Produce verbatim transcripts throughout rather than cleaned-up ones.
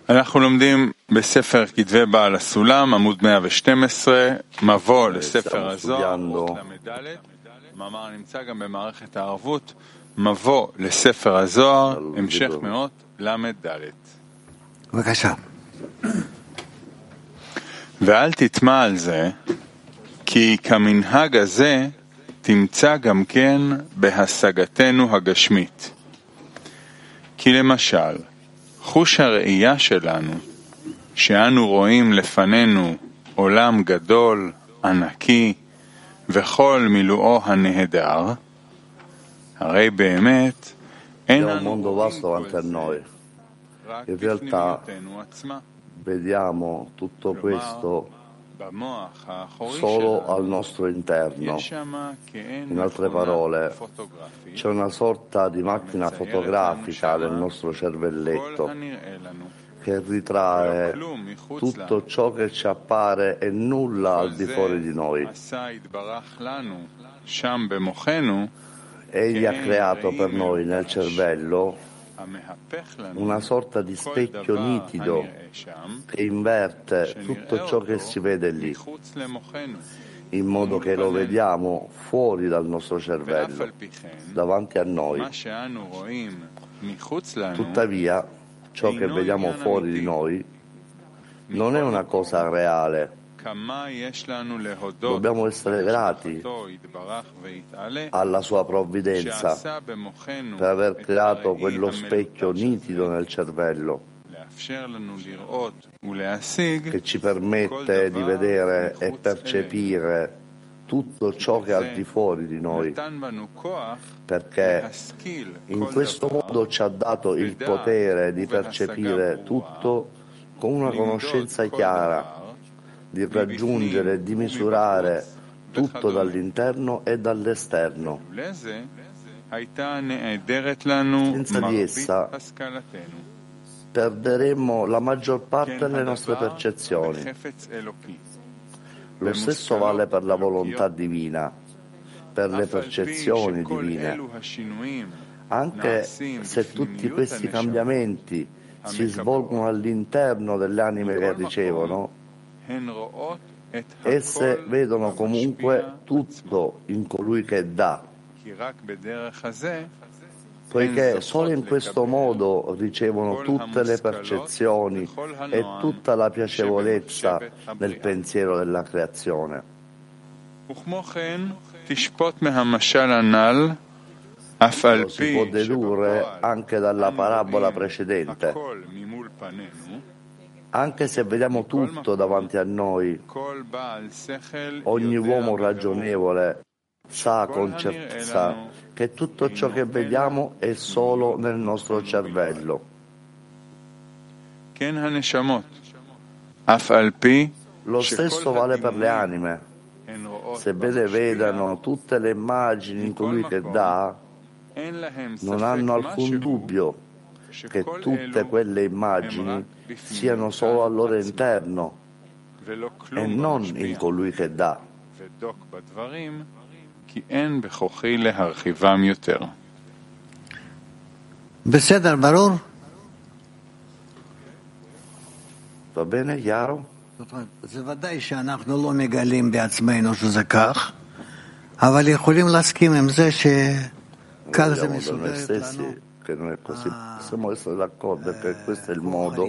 אנחנו לומדים בספר כתבי בעל הסולם, עמוד מאה ושתים עשרה, מבוא לספר הזוהר, אות למדלת, מאמר נמצא גם במערכת הערבות, מבוא לספר הזוהר, המשך מאות למדלת. בבקשה. ואל תטמע על זה, כי כמנהג הזה תמצא גם כן בהשגתנו הגשמית. כי למשל, חוש הראייה שלנו, שאנו רואים לפנינו עולם גדול, ענקי, וכל מילואו הנהדר, הרי באמת אין לנו רואים רק בפנימיותנו עצמה. Vediamo tutto questo solo al nostro interno. In altre parole, c'è una sorta di macchina fotografica del nostro cervelletto che ritrae tutto ciò che ci appare e nulla al di fuori di noi. Egli ha creato per noi nel cervello una sorta di specchio nitido che inverte tutto ciò che si vede lì, in modo che lo vediamo fuori dal nostro cervello, davanti a noi. Tuttavia, ciò che vediamo fuori di noi non è una cosa reale. Dobbiamo essere grati alla sua provvidenza per aver creato quello specchio nitido nel cervello che ci permette di vedere e percepire tutto ciò che è al di fuori di noi, perché in questo modo ci ha dato il potere di percepire tutto con una conoscenza chiara, di raggiungere e di misurare tutto dall'interno e dall'esterno. Senza di essa perderemmo la maggior parte delle nostre percezioni. Lo stesso vale per la volontà divina, per le percezioni divine. Anche se tutti questi cambiamenti si svolgono all'interno delle anime che ricevono, esse vedono comunque tutto in colui che dà, poiché solo in questo modo ricevono tutte le percezioni e tutta la piacevolezza nel pensiero della creazione. Lo si può dedurre anche dalla parabola precedente. Anche se vediamo tutto davanti a noi, ogni uomo ragionevole sa con certezza che tutto ciò che vediamo è solo nel nostro cervello. Lo stesso vale per le anime. Sebbene vedano tutte le immagini in colui che dà, non hanno alcun dubbio che tutte quelle immagini siano solo al loro interno e non in colui che dà. בסדר, ברור? Va bene, chiaro? זה ודאי שאנחנו לא מגלים בעצמנו שזה כך, אבל יכולים להסכים עם זה שכך זה מסודר לנו. Che non è così, possiamo essere d'accordo che questo è il modo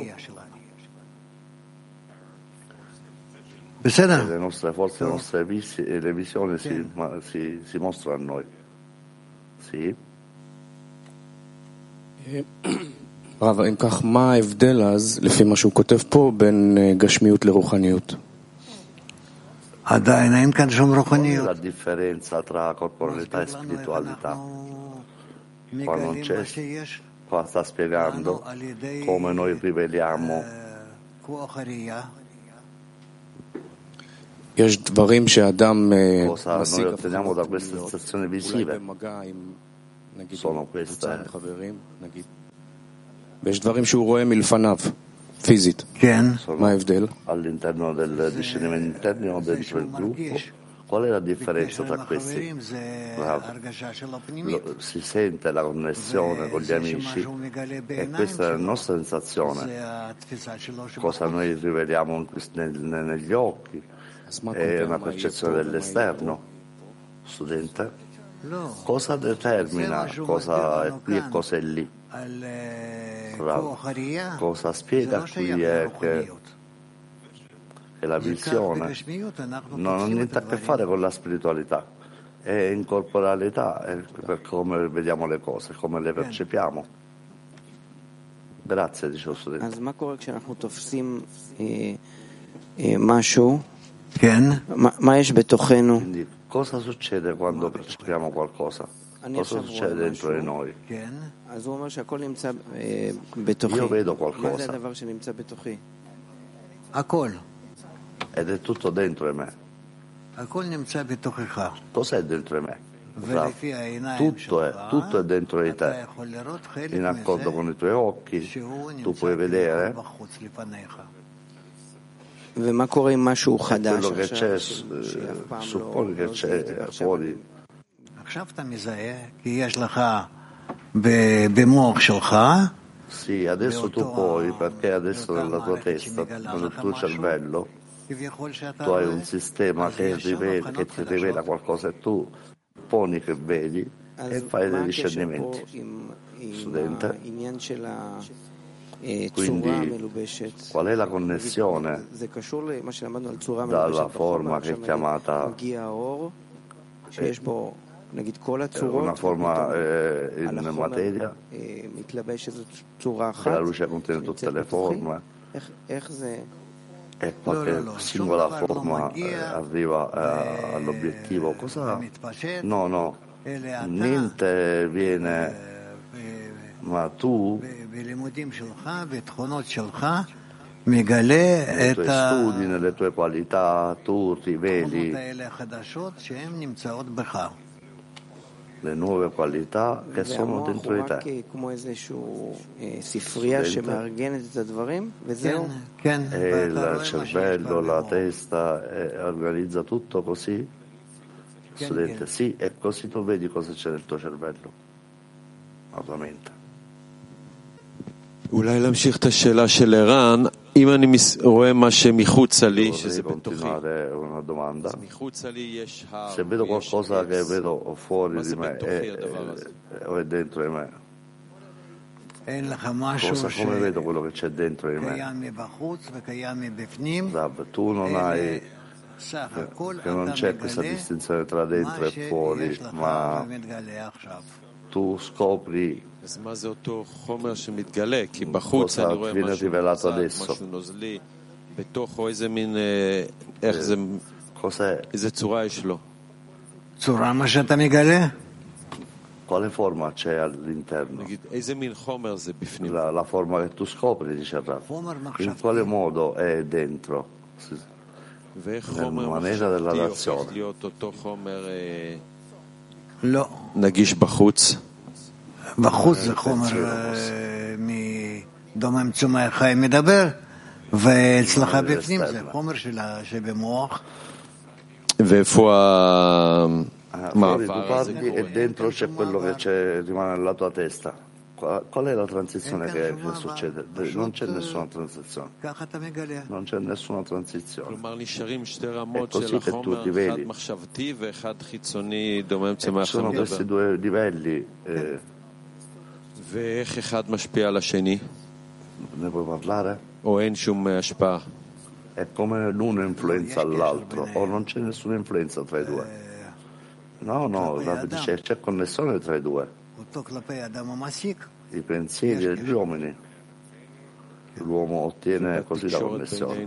che le nostre forze, le nostre visi, e le visioni si, si, si mostrano a noi. Sì. רב, אם כך, מה ההבדל אז, לפי מה שהוא כותב פה, בין גשמיות לרוחניות? עדיין אין כאן שום רוחניות. La differenza tra corporalità e spiritualità. Qua non c'è, qua sta spiegando come noi riveliamo cosa noi otteniamo da queste sensazioni visive. Sono queste. Sono all'interno del discernimento interno dentro il gruppo, Qual è la differenza tra questi? Lo, si sente la connessione con gli amici e questa è la nostra sensazione. Cosa noi riveliamo nel, negli occhi è una percezione dell'esterno. Studente, cosa determina cosa è qui e cosa è lì? Bravo. Cosa spiega qui è che e la visione non ha niente a che fare con la spiritualità, è in corporalità, è per come vediamo le cose, come le percepiamo. Grazie, dice lo studente. Quindi, cosa succede quando percepiamo qualcosa? Cosa succede dentro di noi? Io vedo qualcosa. Ed è tutto dentro di me. Cos'è dentro di me? Bravo. Tutto è, tutto è dentro di te. In accordo con i tuoi occhi, tu puoi vedere quello che c'è, supponi che c'è fuori. Sì, adesso tu puoi, perché adesso nella tua testa, nel tuo cervello, tu hai un sistema che, rivela, che ti rivela qualcosa e tu poni che vedi e fai dei discernimenti. Studente, quindi qual è la connessione dalla forma che è chiamata eh, una forma eh, in materia, che la luce contiene tutte le forme e qualche singola forma eh, arriva eh, all'obiettivo. Cosa? No, no, niente viene, ma tu nei tuoi studi, nelle tue qualità, tu riveli le nuove qualità che sono dentro di te. E il cervello, la testa eh, organizza tutto così? Studente, sì, e così tu vedi cosa c'è nel tuo cervello, la tua mente. אולי להמשיך את השאלה של ערן, אם אני רואה מה שמחוצה לי, שזה בתוכי, אז מחוצה לי יש הר, se vedo qualcosa che vedo fuori di me o è dentro di me, cosa, come vedo quello che c'è dentro di me? Rav, tu non hai che non c'è questa distinzione tra dentro e fuori, ma tu scopri cosa viene rivelato adesso. Cos'è? Quale forma c'è all'interno? La, la forma che tu scopri, dice Rav. In quale modo è dentro? Nella maniera della razione. נגיש בחוץ. בחוץ זה חומר מדומם צומח חי מדבר, ואצלך בפנים זה חומר שבמוח. ואיפה Fuori tu parli e dentro c'è quello che c'è, rimane nella tua testa. Qual è la transizione che, che succede? Non c'è nessuna transizione. Non c'è nessuna transizione. È così che tu ti vedi. E ci sono questi due livelli. Eh, ne puoi parlare? È come l'uno influenza l'altro, o non c'è nessuna influenza tra i due. No, no, dice, c'è connessione tra i due. I pensieri degli uomini. L'uomo ottiene così la connessione.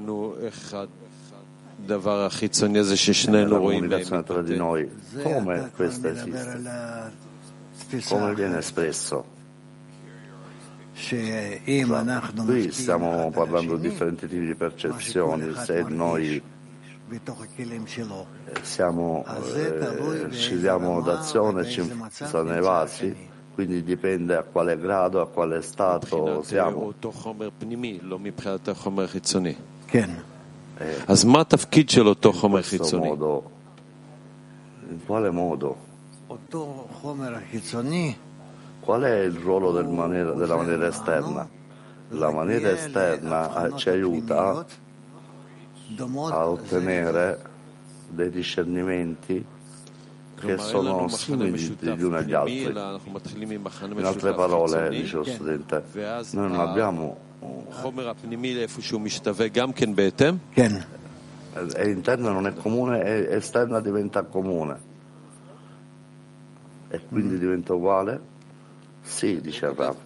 La comunicazione tra di noi, come questa esiste? Come viene espresso? Qui stiamo parlando di differenti tipi di percezioni. Se noi siamo, eh, ci diamo d'azione e ci influenza nei vasi, quindi dipende a quale grado, a quale stato siamo. אז מה התפקיד של אותו חומר חיצוני? In quale modo? Qual è il ruolo del maniera, della maniera esterna? La maniera esterna ci aiuta a ottenere dei discernimenti che sono simili gli uni agli altri. In altre parole, dice lo studente, noi non abbiamo e interna non è comune e esterna diventa comune e quindi diventa uguale? Sì, dice il Rav.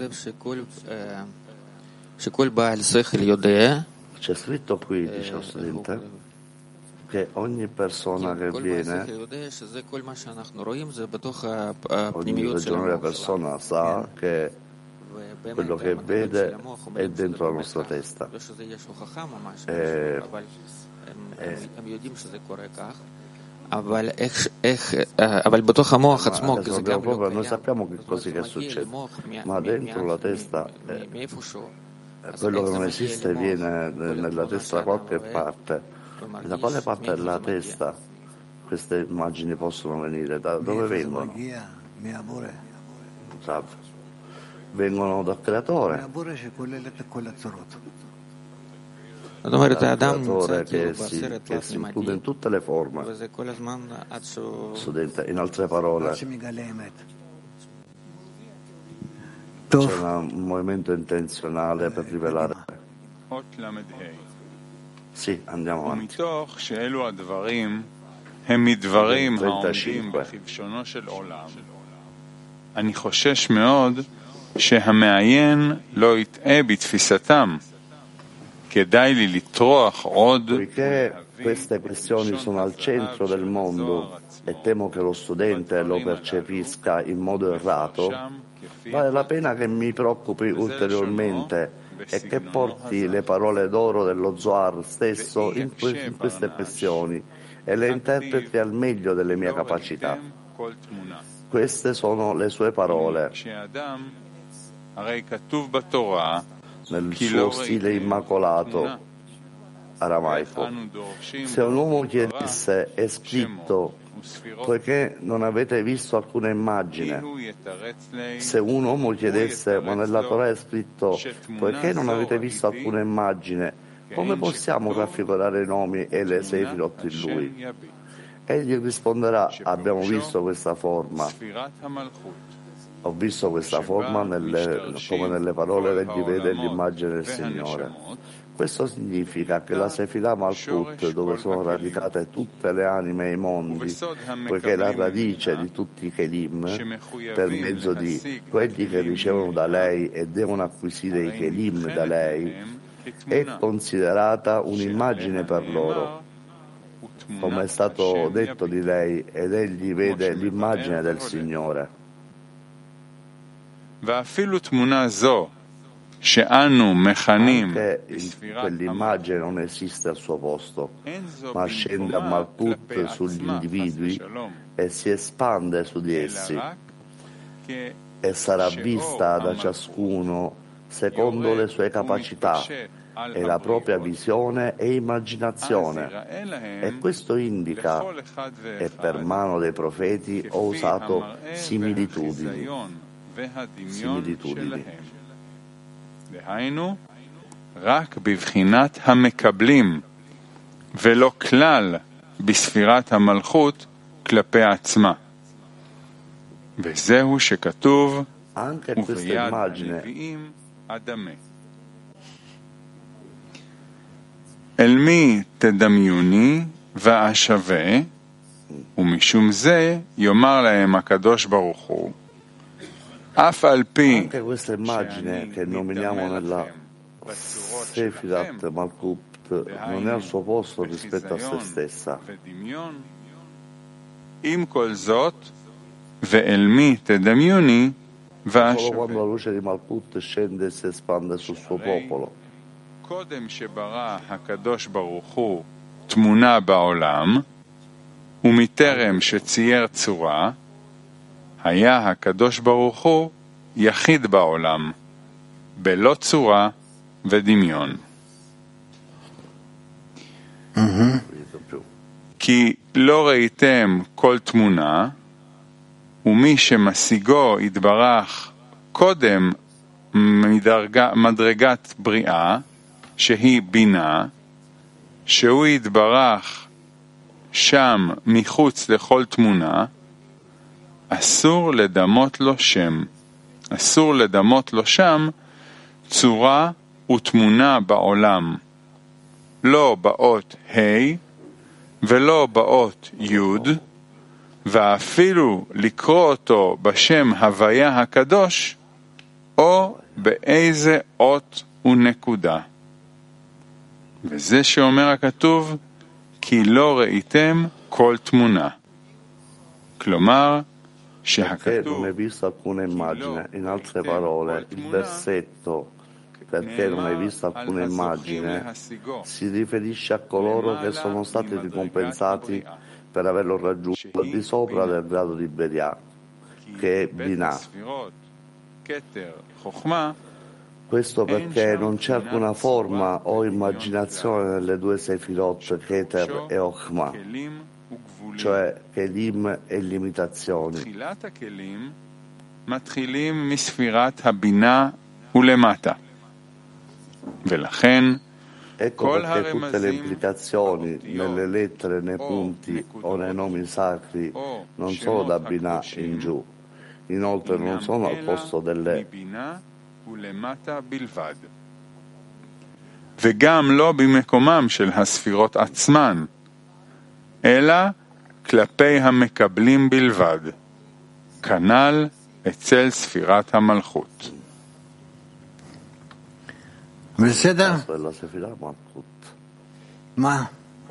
C'è scritto qui, dice lo studente, che ogni persona che viene, ogni ragionevole persona sa che quello che vede è dentro la nostra testa. E, e, אבל איך, איך, אבל בתוך המוח עצמו, זה גם לא noi sappiamo che così che succede, ma dentro la testa è, quello che non esiste viene nella testa da qualche parte. Da quale parte della testa queste immagini possono venire? Da dove vengono? Vengono dal creatore. Dal creatore che si, che si include in tutte le forme. Studente, in altre parole, c'è un movimento intenzionale per rivelare. Sì, andiamo avanti. trentacinque. אני חושש מאוד שהמעיין לא יטעה בתפיסתם. כדאי לי לטרוח עוד. Poiché queste questioni sono al centro del mondo e temo che lo studente lo percepisca in modo errato, vale la pena che mi preoccupi ulteriormente e che porti le parole d'oro dello Zohar stesso in, que- in queste questioni e le interpreti al meglio delle mie capacità. Queste sono le sue parole nel suo stile immacolato aramaico. Se un uomo chiedesse è scritto poiché non avete visto alcuna immagine, se un uomo chiedesse ma nella Torah è scritto poiché non avete visto alcuna immagine, come possiamo raffigurare i nomi e le sefirot in lui? Egli risponderà abbiamo visto questa forma, ho visto questa forma nelle, come nelle parole egli vede l'immagine del Signore. Questo significa che la Sefirah Malkut, dove sono radicate tutte le anime e i mondi, poiché è la radice di tutti i Kelim, per mezzo di quelli che ricevono da lei e devono acquisire i Kelim da lei, è considerata un'immagine per loro, come è stato detto di lei, ed egli vede l'immagine del Signore. Anche quell'immagine non esiste al suo posto, ma scende a Malkut sugli individui e si espande su di essi e sarà vista da ciascuno secondo le sue capacità e la propria visione e immaginazione, e questo indica, e per mano dei profeti ho usato similitudini similitudini דהיינו, רק בבחינת המקבלים, ולא כלל בספירת המלכות כלפי עצמה. וזהו שכתוב, וביד הנביאים אדמה. אל מי תדמיוני ואשווה, ומשום זה יאמר להם הקדוש ברוך הוא, anche questa immagine che nominiamo nella Sefirat Malkut non è al suo posto rispetto a se stessa. Solo quando la luce di Malkut scende e si espande sul suo popolo. ומטרם שצייר צורה, היה הקדוש ברוך הוא יחיד בעולם, בלא צורה ודמיון. כי לא ראיתם כל תמונה, ומי שמשיגו יתברך קודם מדרגה, מדרגת בריאה, שהיא בינה, שהוא יתברך שם מחוץ לכל תמונה, אסור לדמות לו שם. אסור לדמות לו שם צורה ותמונה בעולם. לא באות ה' ולא באות י', ואפילו לקרוא אותו בשם הוויה הקדוש, או באיזה אות ונקודה. וזה שאומר הכתוב, כי לא ראיתם כל תמונה. כלומר, perché non hai visto alcuna immagine. In altre parole, il versetto perché non hai visto alcuna immagine si riferisce a coloro che sono stati ricompensati per averlo raggiunto al di sopra del grado di Beria, che è Binah. Questo perché non c'è alcuna forma o immaginazione nelle due Sefirot, Keter e Ochma, cioè Kelim e limitazioni. מתחילים מספירת הבינה ולמטה. ולכן ecco perché tutte le implicazioni nelle lettere, nei punti o nei nomi sacri non sono da Binah in giù, inoltre non sono al posto delle וגם לא במקומם של הספירות עצמן, אלא כלפי המקבלים בלבד, כנ"ל אצל ספירת המלכות. בסדר? מה?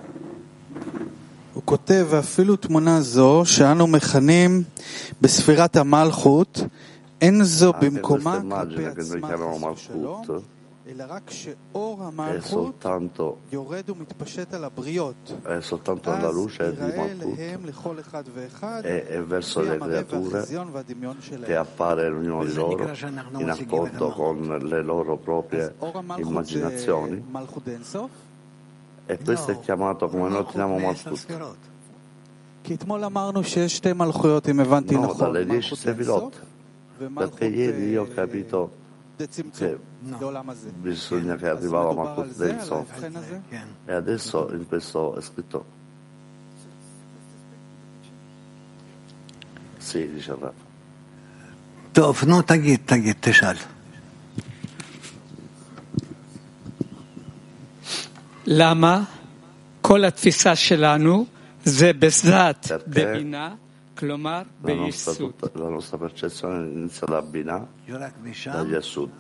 הוא כותב, ואפילו תמונה זו שאנו מכנים בספירת המלכות, אין זו במקומה כלפי עצמה שלום, אלא רק שאור המלכות יורד ומתפשט על הבריות. אז יראה אליהם לכל אחד ואחד לפי המראה והחזיון והדמיון שלהם. אז אור המלכות זה מלכות אינסוף? E questo è chiamato come noi chiamiamo Malkut. כי אתמול אמרנו שיש שתי מלכויות, אם הבנתי No, נכון. dalle dieci Sefirot. Perché ieri io ho capito che bisogna che arrivava Malkut del Sof. E adesso in questo è scritto. Sì, dice il Rav. טוב, נו, תגיד, תגיד, תשאל. למה כל התפיסה שלנו זה בזאת בבינה, כלומר ביסוד. La nostra percezione inizia da Binah, da Yesud.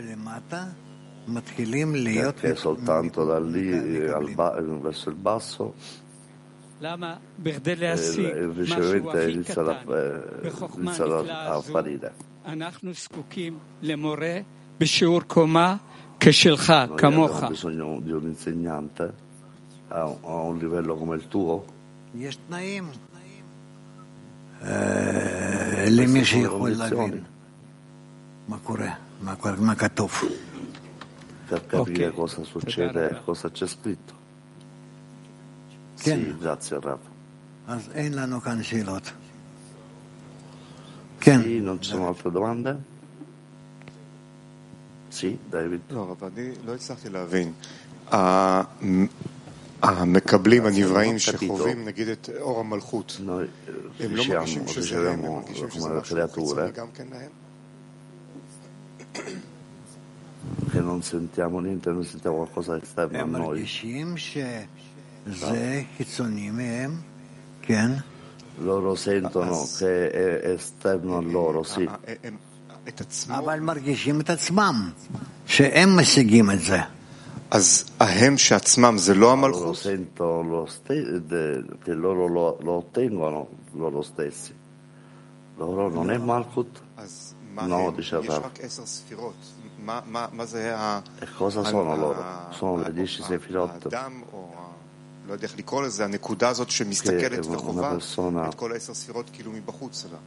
Perché soltanto da lì al ba- verso il basso למה? בכדי il להשיג משהו ricevente הכי inizia, da, קטן eh, בחוכמה inizia הנפלאה a הזו, apparire. אנחנו זקוקים למורה בשיעור קומה כשלך, Noi כמוך. abbiamo bisogno di un insegnante a un, a un livello come il tuo. יש תנאים למי שיכול להבין מה קורה, מה קורה, מה כתוב. Per capire Ok. cosa succede e cosa c'è scritto. Ken. Sì, grazie Rav. אז אין לנו כאן שאלות. כן. Sì, non ci sono altre domande? Sì, David. לא, אבל אני לא הצלחתי להבין. ה- המקבלים הנבראים שחווים נגיד את אור המלכות, Noi eh, הם לא מרגישים riusciamo, שזה הם, הם riceviamo מרגישים שזה come le משהו creature חיצוני גם כן להם? che non sentiamo niente, noi sentiamo qualcosa di esterno a הם noi. מרגישים שזה חיצוני מהם, כן, Loro sentono che è esterno a loro, sì. ה- הם- את עצמו, אבל מרגישים את עצמם, שהם משיגים את זה. אז ההם שעצמם זה לא Loro המלכות? sentono lo ste- de- che loro lo, lo ottengono loro stessi. Loro non è Malkut? אז מה No, הם? dice יש Rav. רק עשר ספירות. מה- מה מה זה ה- E cosa sono ה- loro? ה- Sono le ה- dieci ה- Sefirot האדם, או ה- לא יודע איך לקרוא לזה, הנקודה הזאת שמסתכלת una וחובה persona- את כל העשר ספירות כאילו מבחוץ שלה.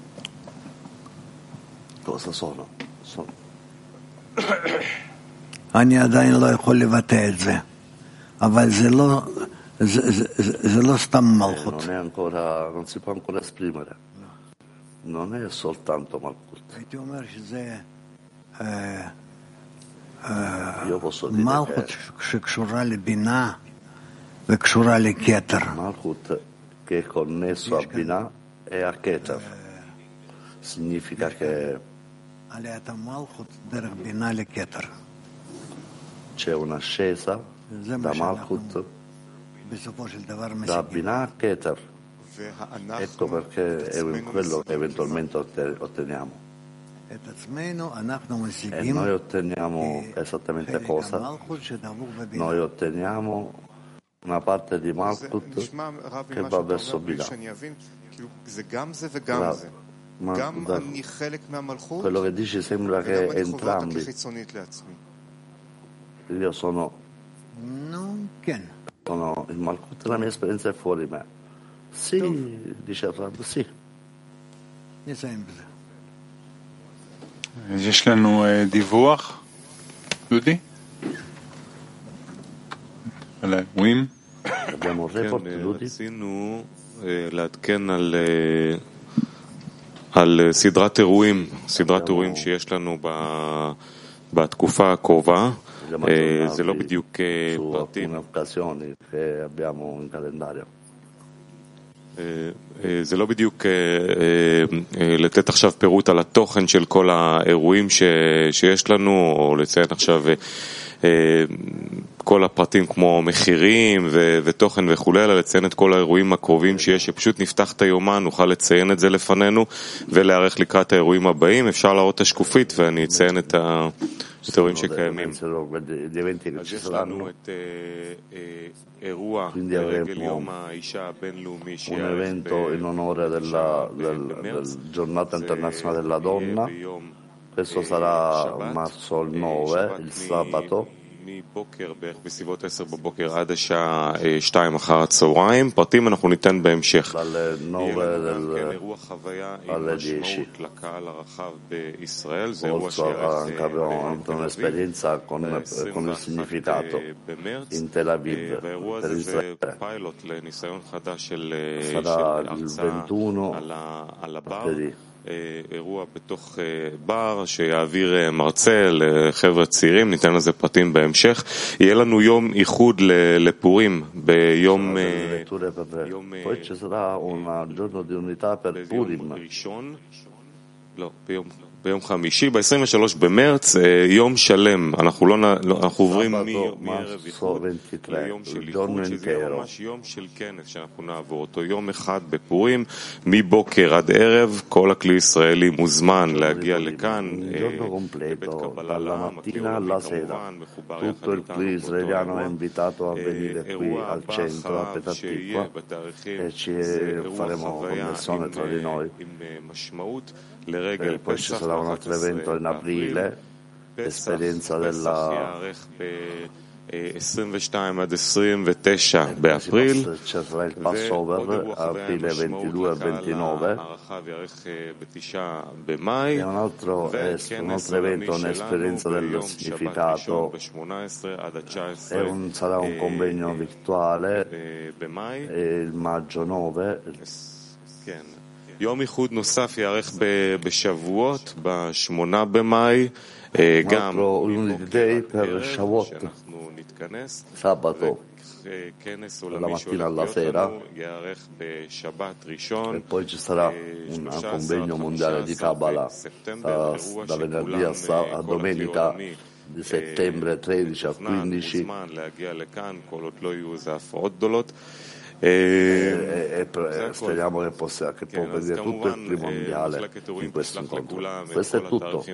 cosa sono? Sono אני עדיין לא יכול לבטא את זה, אבל זה לא, זה, זה, זה, זה לא סתם מלכות. Non è ancora, non si può ancora esprimere. Non è soltanto Malchut. הייתי אומר שזה Io posso dire מלכות che שקשורה לבינה וקשורה לכתר. Malchut che è connesso a Binah e a Keter. Significa che עליית המלכות דרך בינה לכתר. c'è un'ascesa da Malchut בסופו של דבר da משיגים. Binah a Keter. Ecco perché è quello che eventualmente otteniamo. את עצמנו אנחנו E משיגים noi otteniamo esattamente חלק cosa? המלכות שדבוק בבינה. Noi otteniamo una parte di Malchut che va verso Binah. Ma da quello che dici sembra che entrambi. Io sono, נו, כן. sono il Malchut, la mia esperienza è fuori me. Sì, dice il Rab, sì. נסיים בזה. יש לנו דיווח, דודי? על האירועים? Abbiamo un report, Dudi? רצינו לעדכן על על סדרת אירועים, סדרת אירועים שיש לנו בתקופה הקרובה. זה לא בדיוק פרטים. זה לא בדיוק לתת עכשיו פירוט על התוכן של כל האירועים שיש לנו, או לציין עכשיו כל הפרטים כמו מחירים ותוכן וכו', אלא לציין את כל האירועים הקרובים שיש, שפשוט נפתח את היומן, נוכל לציין את זה לפנינו ולהערך לקראת האירועים הבאים. אפשר להראות את השקופית ואני אציין את האירועים שקיימים. אז יש לנו את אירוע לרגל יום האישה הבינלאומי שיערך במרץ, Questo sarà marzo il nove, il sabato. מבוקר בערך בסביבות עשר בבוקר עד השעה שתיים אחר הצהריים. פרטים אנחנו ניתן בהמשך. יהיה לנו גם אירוע חוויה עם משמעות לקהל הרחב בישראל. זה אירוע שיערך בתל אביב והאירוע הזה זה פיילוט לניסיון חדש של הרצאה על הבר. אירוע בתוך בר שיעביר מרצה לחבר'ה צעירים, ניתן לזה פרטים בהמשך. יהיה לנו יום איחוד לפורים ביום ראשון, לא, ביום ביום חמישי, ב-עשרים ושלושה במרץ, יום שלם. אנחנו לא, אנחנו עוברים מערב איחוד ליום של איחוד, שזה יהיה ממש יום של כנס שאנחנו נעבור אותו. יום אחד בפורים, מבוקר עד ערב, כל הכלי ישראלי מוזמן להגיע לכאן, לבית קבלה לעם, הכלי עולמי כמובן, מחובר יחד איתנו. אירוע הבא שיהיה בתאריכים, זה אירוע חוויה עם משמעות. לרגל פסח ב-אחד עשר באפריל, פסח יערך ב-עשרים ושתיים עד עשרים ותשע באפריל, ועוד אירוע חוויה עם משמעות לקהל הרחב יערך בתשעה במאי, וכנס עולמי שלנו ביום שבת ראשון ב-שמונה עשרה עד ה-תשע עשרה במאי. כן. יום איחוד נוסף יערך בשבועות, בשמונה במאי, גם מבוקר עד ערב, שאנחנו נתכנס, וכנס עולמי שהולך להיות לנו יערך בשבת ראשון, שלושה עשר בספטמבר, אירוע שכולם כל הכלי עולמי di settembre tredici a quindici מוזמן להגיע לכאן, כל עוד לא יהיו איזה הפרעות גדולות. E, e, e speriamo che, possa, che può vedere tutto il primo mondiale in questo incontro. Questo è tutto.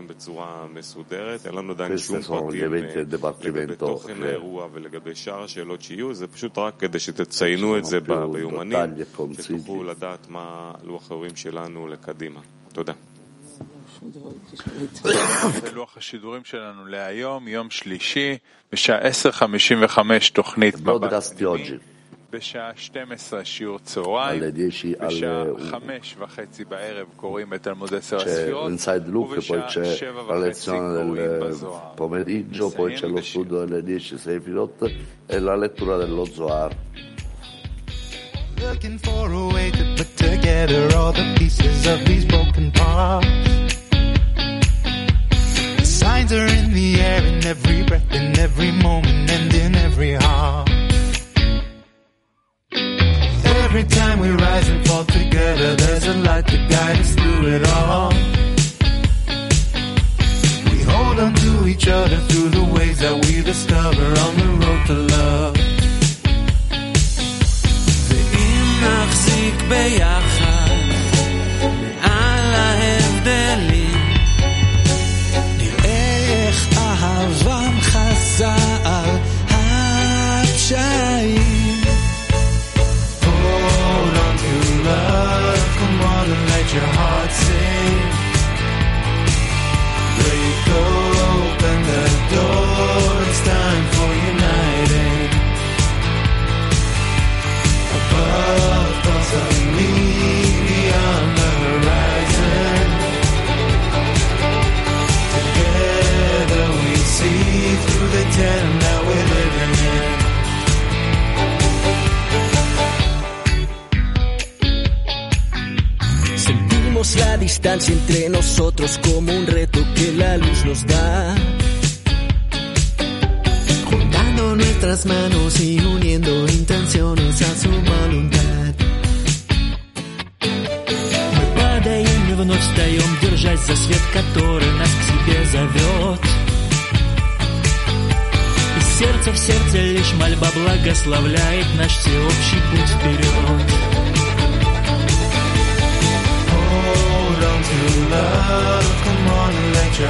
Questi sono gli eventi del Dipartimento ולגבי שאר השאלות שיהיו, זה פשוט רק כדי שתציינו את זה ביומנים, שתוכלו לדעת מה לוח האירועים שלנו לקדימה. תודה. זה לוח השידורים שלנו להיום, יום שלישי, בשעה עשר חמישים וחמש תוכנית מבט פנימי. בשעה שתים עשרה שיעור צהריים, בשעה חמש וחצי בערב קוראים את תלמוד עשר הספירות, ובשעה שבע וחצי קוראים בזוהר. pomeriggio, poi c'è lo studio delle dieci Sefirot e la lettura dello Zohar. Looking for a way to put together all the pieces of these broken parts. The signs are in the air, in every breath, in every moment, and in every heart. Every time we rise and fall together, there's a light to guide us through it all. We hold on to each other through the ways that we discover on the road to love. נחזיק ביחד מעל ההבדלים, נראה איך אהבם חזה על הפשעים. Hold on to love, come on and let your heart sing. Break open the door, it's time for uniting. Above, thoughts of me beyond the horizon. Together we see through the den that we're living in. Sentimos la distancia entre nosotros como un reto que la luz nos da. Nuestras manos y uniendo intenciones a su voluntad. Мы падаем и вновь встаем, держась за свет, который нас к себе зовет. Из сердца в сердце лишь мольба благословляет наш всеобщий путь вперед. Hold on to love, come on and let your